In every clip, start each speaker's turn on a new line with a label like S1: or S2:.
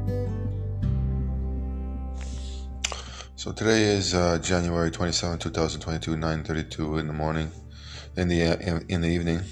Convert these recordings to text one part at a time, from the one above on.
S1: So today is January 27, 2022, 9:32 in the morning, in the evening.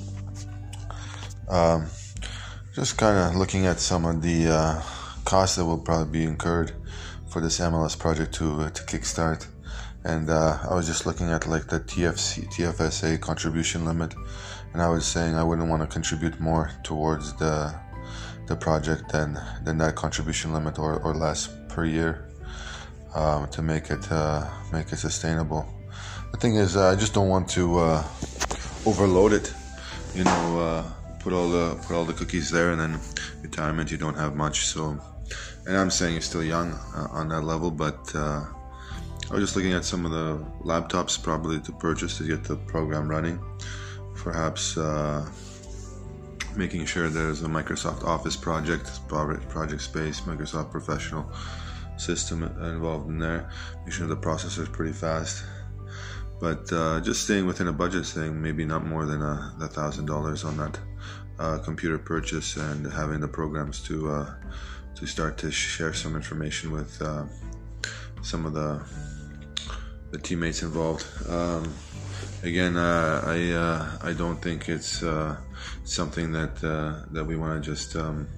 S1: Just kind of looking at some of the costs that will probably be incurred for this MLS project to kickstart, and I was just looking at like the TFSA contribution limit, and I was saying I wouldn't want to contribute more towards the project than that contribution limit or less per year. To make it sustainable. The thing is, I just don't want to overload it. Put all the cookies there, and then retirement you don't have much. So, and I'm saying you're still young on that level, but I was just looking at some of the laptops probably to purchase to get the program running. Perhaps making sure there's a Microsoft Office project space, Microsoft Professional system involved in there. Make sure the processor is pretty fast, but just staying within a budget, saying maybe not more than $1,000 on that computer purchase, and having the programs to start to share some information with some of the teammates involved. Again, I don't think it's something that we want to just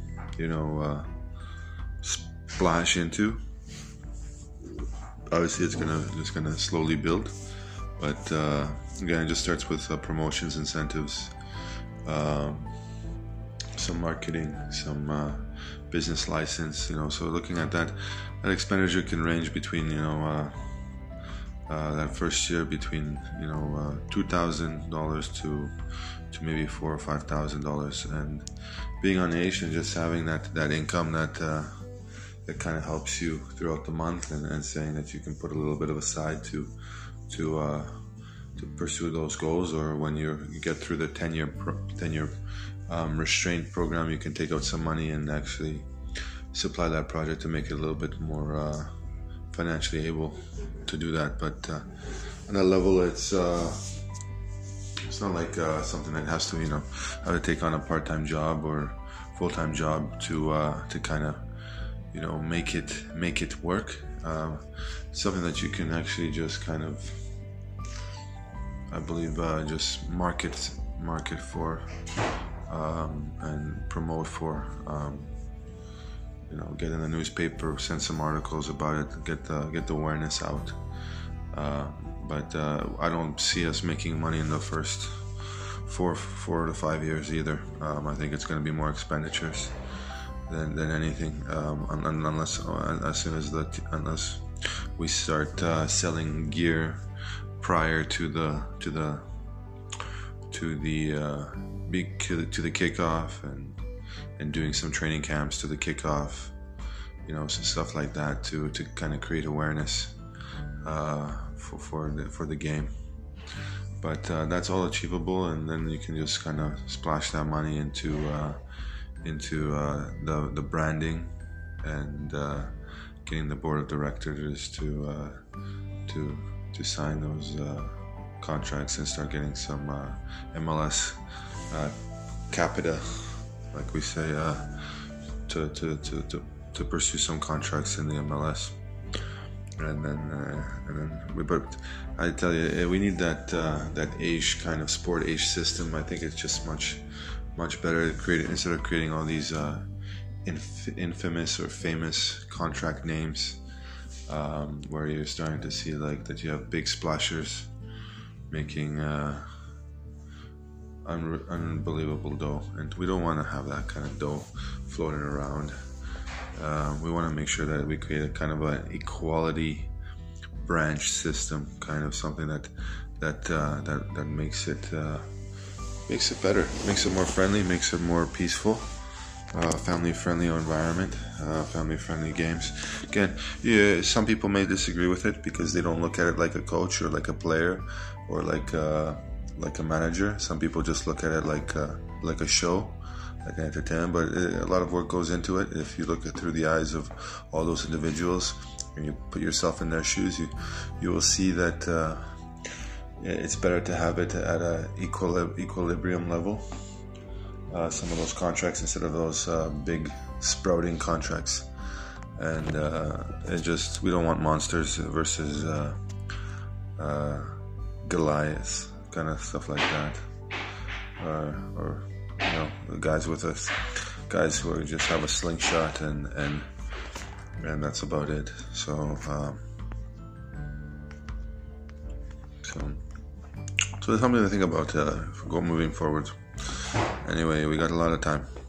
S1: splash into. Obviously, it's gonna slowly build, but again, it just starts with promotions, incentives, some marketing, some business license. So looking at that expenditure can range between that first year between $2,000 to maybe $4,000 or $5,000, and being on age and just having that income that kind of helps you throughout the month, and saying that you can put a little bit of aside to pursue those goals, or when you get through the 10-year restraint program, you can take out some money and actually supply that project to make it a little bit more financially able to do that. But on that level, it's not like something that has to have to take on a part-time job or full-time job to kind of make it work. Something that you can actually just kind of, I believe, just market for and promote for. Get in the newspaper, send some articles about it, get the awareness out. But I don't see us making money in the first 4 to 5 years either. I think it's going to be more expenditures than anything, unless we start selling gear prior to the kickoff, and doing some training camps to the kickoff, some stuff like that to kind of create awareness for the game. But that's all achievable, and then you can just kind of splash that money into the branding, and getting the board of directors to sign those contracts and start getting some MLS capita, like we say, to pursue some contracts in the MLS. But I tell you, we need that age kind of sport age system. I think it's just much better to create, instead of creating all these infamous or famous contract names, where you're starting to see like that you have big splashers making unbelievable dough, and we don't want to have that kind of dough floating around. We want to make sure that we create a kind of an equality branch system, kind of something that makes it better, makes it more friendly, makes it more peaceful, family-friendly environment, family-friendly games. Again, some people may disagree with it because they don't look at it like a coach or like a player or like a manager. Some people just look at it like a show, like an entertainment. But a lot of work goes into it. If you look at through the eyes of all those individuals and you put yourself in their shoes, you will see that it's better to have it at a equilibrium level. some of those contracts instead of those big sprouting contracts. And we don't want monsters versus Goliaths, kind of stuff like that, or guys who just have a slingshot and that's about it. So it's something to think about moving forward. Anyway, we got a lot of time.